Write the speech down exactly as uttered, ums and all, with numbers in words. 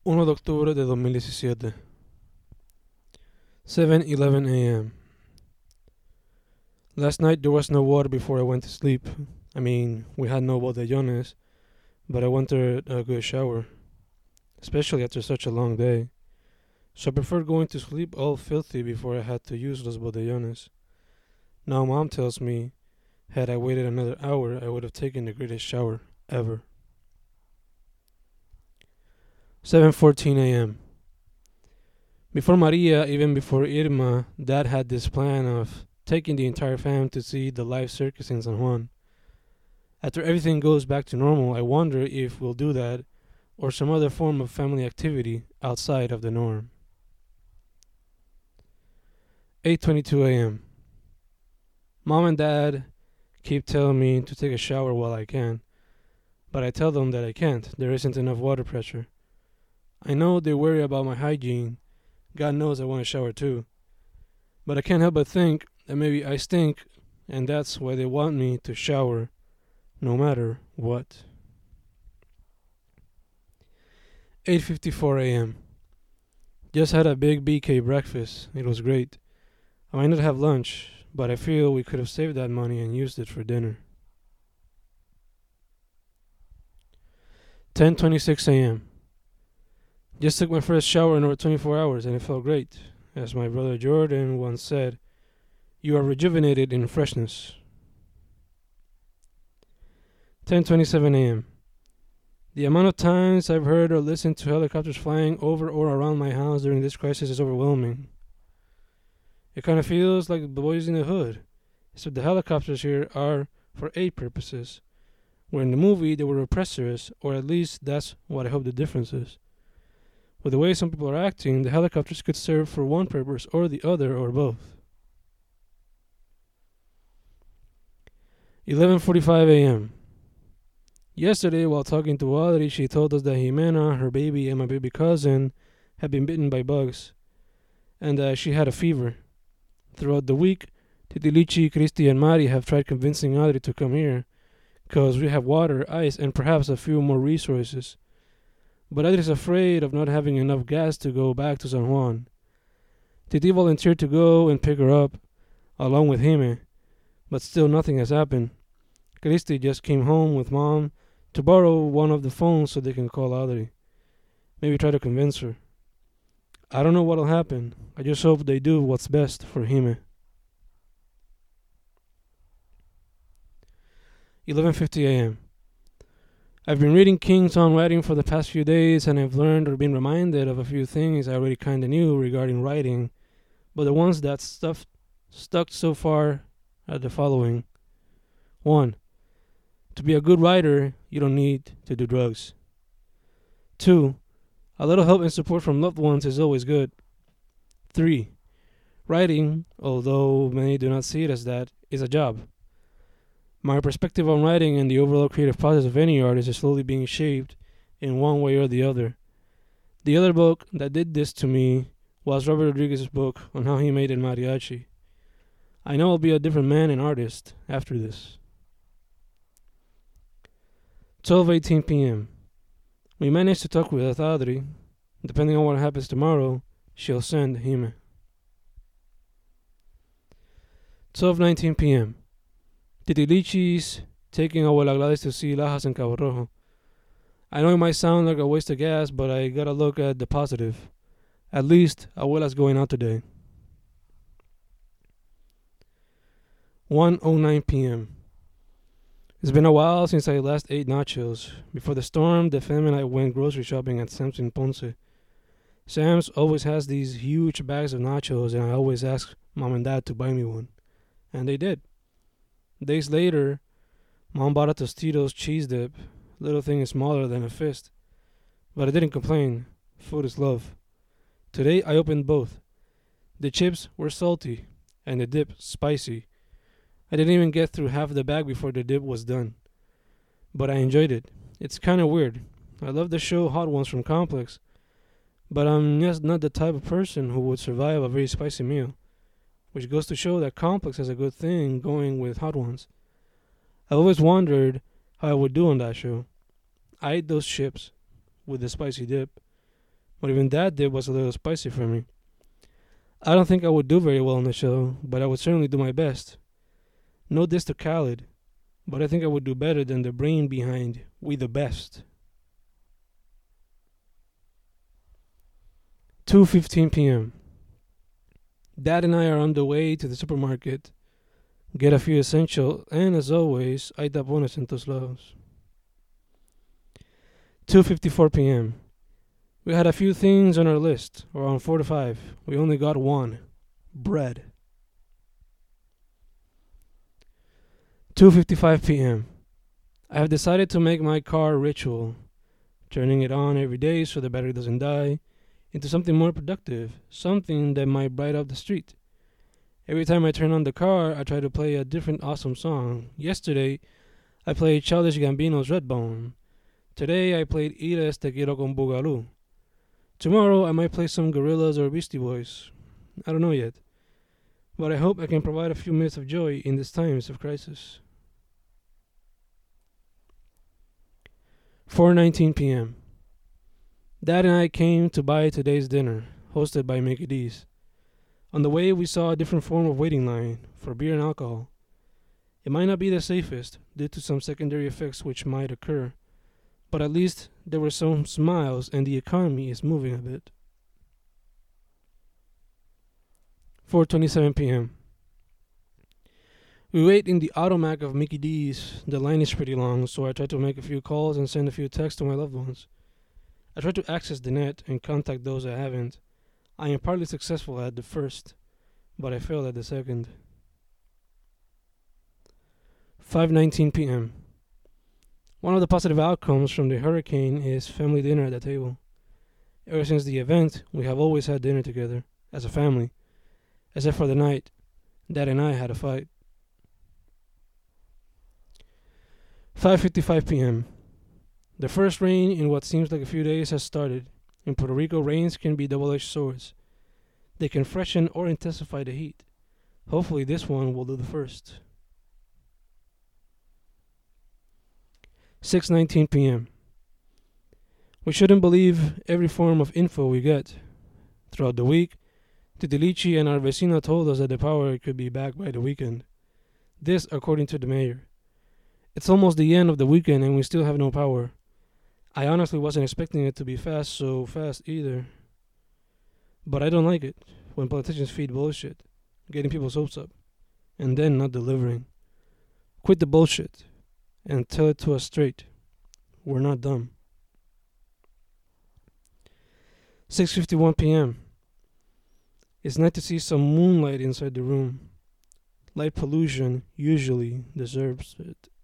uno de octubre de dos mil diecisiete. seven eleven a m. Last night there was no water before I went to sleep. I mean, we had no botellones, but I wanted a good shower, especially after such a long day. So I preferred going to sleep all filthy before I had to use those botellones. Now mom tells me, had I waited another hour, I would have taken the greatest shower ever. seven fourteen a m. Before Maria, even before Irma, Dad had this plan of taking the entire fam to see the live circus in San Juan. After everything goes back to normal, I wonder if we'll do that or some other form of family activity outside of the norm. eight twenty-two a m. Mom and Dad keep telling me to take a shower while I can, but I tell them that I can't. There isn't enough water pressure. I know they worry about my hygiene. God knows I want to shower too. But I can't help but think that maybe I stink, and that's why they want me to shower no matter what. eight fifty-four a m. Just had a big B K breakfast. It was great. I might not have lunch, but I feel we could have saved that money and used it for dinner. ten twenty-six a m. Just took my first shower in over twenty-four hours and it felt great. As my brother Jordan once said, you are rejuvenated in freshness. ten twenty-seven a m. The amount of times I've heard or listened to helicopters flying over or around my house during this crisis is overwhelming. It kind of feels like the boys in the hood, except the helicopters here are for aid purposes, where in the movie they were oppressors, or at least that's what I hope the difference is. With the way some people are acting, the helicopters could serve for one purpose or the other or both. eleven forty-five a m. Yesterday, while talking to Audrey, she told us that Jimena, her baby, and my baby cousin had been bitten by bugs, and that she had a fever. Throughout the week, Titilichi, Christy, and Mari have tried convincing Audrey to come here, because we have water, ice, and perhaps a few more resources. But Audrey is afraid of not having enough gas to go back to San Juan. Titi volunteered to go and pick her up, along with Jime, but still nothing has happened. Christy just came home with Mom to borrow one of the phones so they can call Audrey. Maybe try to convince her. I don't know what'll happen. I just hope they do what's best for Jime. eleven fifty a m. I've been reading King's own writing for the past few days, and I've learned or been reminded of a few things I already kind of knew regarding writing, but the ones that stuff stuck so far are the following. One, to be a good writer, you don't need to do drugs. Two, a little help and support from loved ones is always good. Three, writing, although many do not see it as that, is a job. My perspective on writing and the overall creative process of any artist is slowly being shaped in one way or the other. The other book that did this to me was Robert Rodriguez's book on how he made El Mariachi. I know I'll be a different man and artist after this. twelve eighteen p m. We managed to talk with Audrey. Depending on what happens tomorrow, she'll send Jime. twelve nineteen p m. Titilichi's taking Abuela Gladys to see Lajas in Cabo Rojo. I know it might sound like a waste of gas, but I gotta look at the positive. At least, Abuela's going out today. one oh nine p m. It's been a while since I last ate nachos. Before the storm, the fam and I went grocery shopping at Sam's in Ponce. Sam's always has these huge bags of nachos, and I always ask Mom and Dad to buy me one. And they did. Days later, Mom bought a Tostitos cheese dip. Little thing is smaller than a fist. But I didn't complain. Food is love. Today I opened both. The chips were salty, and the dip spicy. I didn't even get through half the bag before the dip was done. But I enjoyed it. It's kind of weird. I love the show Hot Ones from Complex, but I'm just not the type of person who would survive a very spicy meal. Which goes to show that Complex has a good thing going with Hot Ones. I've always wondered how I would do on that show. I ate those chips with the spicy dip, What even that did was a little spicy for me. I don't think I would do very well on the show, but I would certainly do my best. No diss to Khaled, but I think I would do better than the brain behind We the Best. two fifteen p.m. Dad and I are on the way to the supermarket, get a few essential, and as always, hay tapones en todos lados. two fifty-four p.m. We had a few things on our list, around four to five. We only got one. Bread. two fifty-five p.m. I have decided to make my car a ritual, turning it on every day so the battery doesn't die, into something more productive, something that might bright up the street. Every time I turn on the car, I try to play a different awesome song. Yesterday, I played Childish Gambino's Redbone. Today, I played Ires Te Quiero con Boogaloo. Tomorrow, I might play some Gorillaz or Beastie Boys. I don't know yet. But I hope I can provide a few minutes of joy in these times of crisis. four nineteen p.m. Dad and I came to buy today's dinner, hosted by Mickey D's. On the way, we saw a different form of waiting line for beer and alcohol. It might not be the safest due to some secondary effects which might occur, but at least there were some smiles and the economy is moving a bit. four twenty-seven p.m. We wait in the automac of Mickey D's. The line is pretty long, so I try to make a few calls and send a few texts to my loved ones. I try to access the net and contact those I haven't. I am partly successful at the first, but I failed at the second. five nineteen p.m. One of the positive outcomes from the hurricane is family dinner at the table. Ever since the event, we have always had dinner together, as a family. Except for the night, Dad and I had a fight. five fifty-five p.m. The first rain in what seems like a few days has started. In Puerto Rico, rains can be double-edged swords. They can freshen or intensify the heat. Hopefully this one will do the first. six nineteen p.m. We shouldn't believe every form of info we get. Throughout the week, Titilichi and our vecina told us that the power could be back by the weekend. This according to the mayor. It's almost the end of the weekend and we still have no power. I honestly wasn't expecting it to be fast so fast either. But I don't like it when politicians feed bullshit, getting people's hopes up, and then not delivering. Quit the bullshit and tell it to us straight. We're not dumb. six fifty-one p.m. It's nice to see some moonlight inside the room. Light pollution usually deserves it.